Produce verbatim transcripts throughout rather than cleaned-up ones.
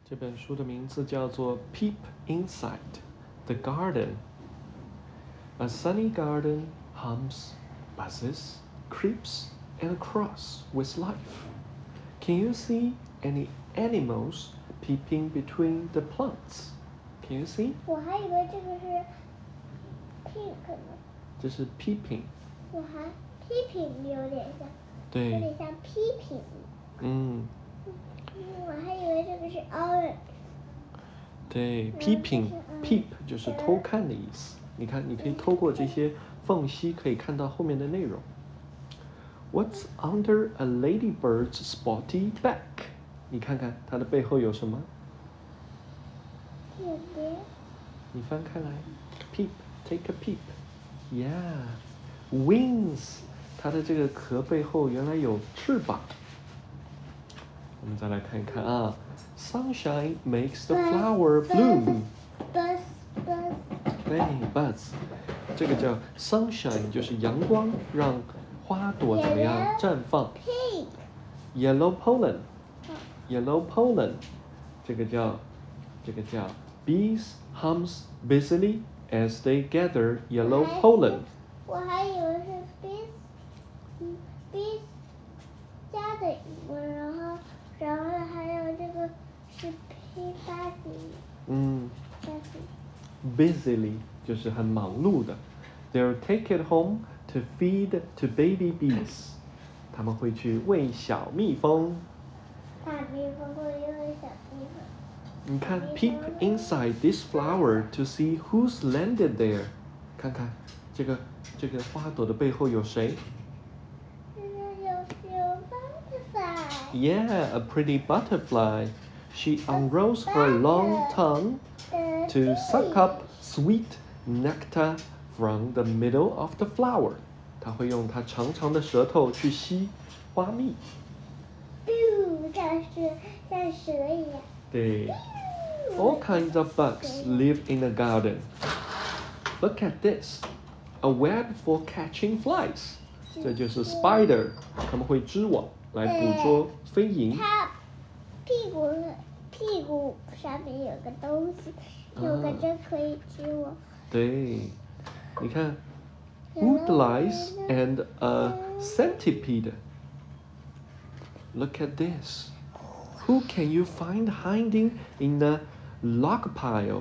这本书的名字叫做《Peep Inside the Garden》。A sunny garden hums, buzzes, creeps, and crawls with life. Can you see any animals peeping between the plants? Can you see? 我还以为这个是 pink 呢。 这是 peeping。 我还 peeping 有点像， 对， 有点像 peeping。 嗯。 我还以为这个是 orange。 对 ，peeping peep 就是偷看的意思。你看，你可以透过这些缝隙可以看到后面的内容。What's under a ladybird's spotty back？ 你看看它的背后有什么？ 有的。 你翻开来 ，peep take a peep。Yeah，wings， 它的这个壳背后原来有翅膀。我们再来看一看啊 ，Sunshine makes the flower bloom。 Buzz buzz。 对 ，buzz， 这个叫 sunshine， 就是阳光让花朵怎么样绽放 ？Pink。 Yellow pollen。Yellow pollen， 这个叫这个叫 bees hums busily as they gather yellow pollen。 我还以为是 bees， 嗯 bees 加的英文，然后然后还有这个是 p busy。 嗯 busy。 busily 就是很忙碌的。They'll take it home to feed to baby bees。他们会去喂小蜜蜂。 大蜜蜂会喂小蜜蜂。 你看 ，peep inside this flower to see who's landed there。看看这个这个花朵的背后有谁？ 有有 butterfly。 Yeah, a pretty butterfly. She unrolls her long tongue to suck up sweet nectar from the middle of the flower. 她会用她长长的舌头去吸花蜜。 像是像蛇一样。 对。All kinds of bugs live in the garden. Look at this. A web for catching flies. 这就是 spider， 它们会织网来捕捉飞蝇。 它屁股屁股上面有个东西，有个针可以织网。 对，你看 woodlice and a centipede. Look at this. Who can you find hiding in the log pile?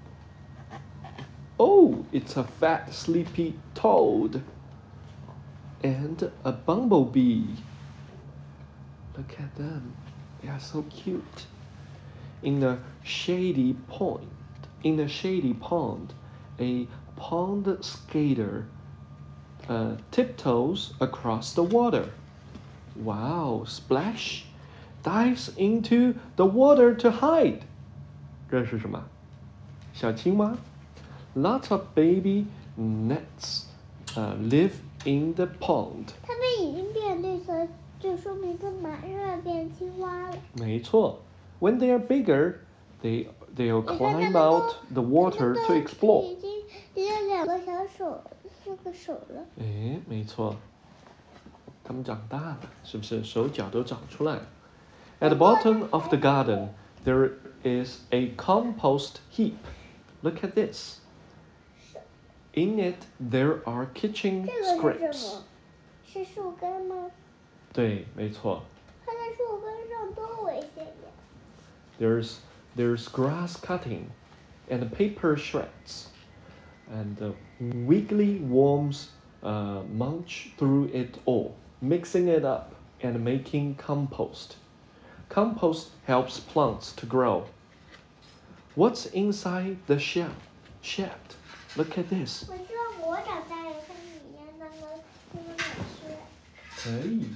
Oh, it's a fat, sleepy toad and a bumblebee. Look at them. They are so cute. In a shady pond, in a shady pond, a pond skater uh, tiptoes across the water. Wow, splash! Dives into the water to hide. 这是什么？小青蛙。Lots of baby nets uh, live in the pond. 它们已经变绿色，就说明它马上要变青蛙了。 没错。When they are bigger, they they'll climb out the water to explore. 已经已经两个小手，四个手了。 哎，没错。它们长大了，是不是手脚都长出来了？ At the bottom of the garden, there is a compost heap. Look at this. In it, there are kitchen 这个是 scraps. 什么？是树根吗？ 对，没错。 它在树根上多危险呀！ There's there's grass cutting, and paper shreds, and uh, wiggly worms uh, munch through it all, mixing it up and making compost. Compost helps plants to grow. What's inside the shed? Shed. Look at this. 我希望我长大以后跟你一样能够那么美食。 可以。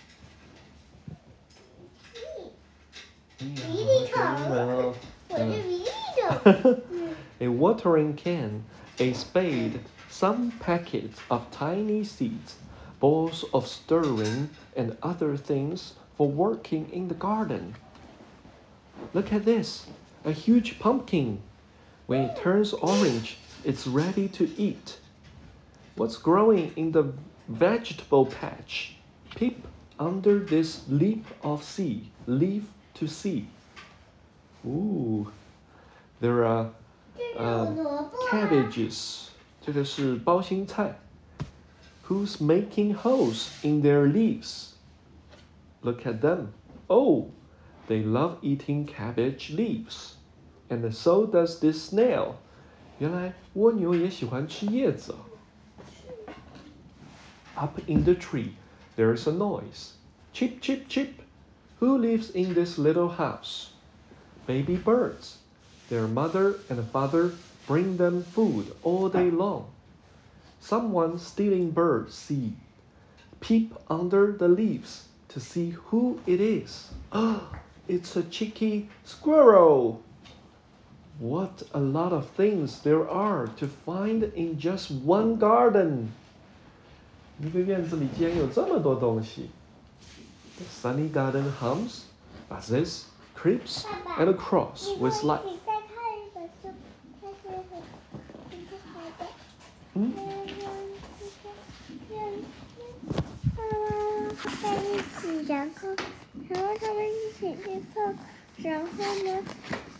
迷你桶，我是迷你桶。 A watering can, a spade, some packets of tiny seeds, balls of stirring, and other things for working in the garden. Look at this, a huge pumpkin. When it turns orange, it's ready to eat. What's growing in the vegetable patch? Peep under this leaf of sea, leaf to see. Ooh, there are 这是 uh, 萝卜啊。 cabbages. 这个是包心菜。Who's making holes in their leaves? Look at them. Oh, they love eating cabbage leaves. And so does this snail. 原来蜗牛也喜欢吃叶子。Up in the tree, there's a noise. Chip, chip, chip. Who lives in this little house? Baby birds. Their mother and father bring them food all day long. Someone stealing bird seed. Peep under the leaves to see who it is. Ah, it's a cheeky squirrel. What a lot of things there are to find in just one garden. 一个院子里竟然有这么多东西。The sunny garden hums, buzzes, creeps, and crawls with life. 你再看一本书，它是很很不好的。 嗯。 在一起，然后，然后他们一起去碰，然后呢，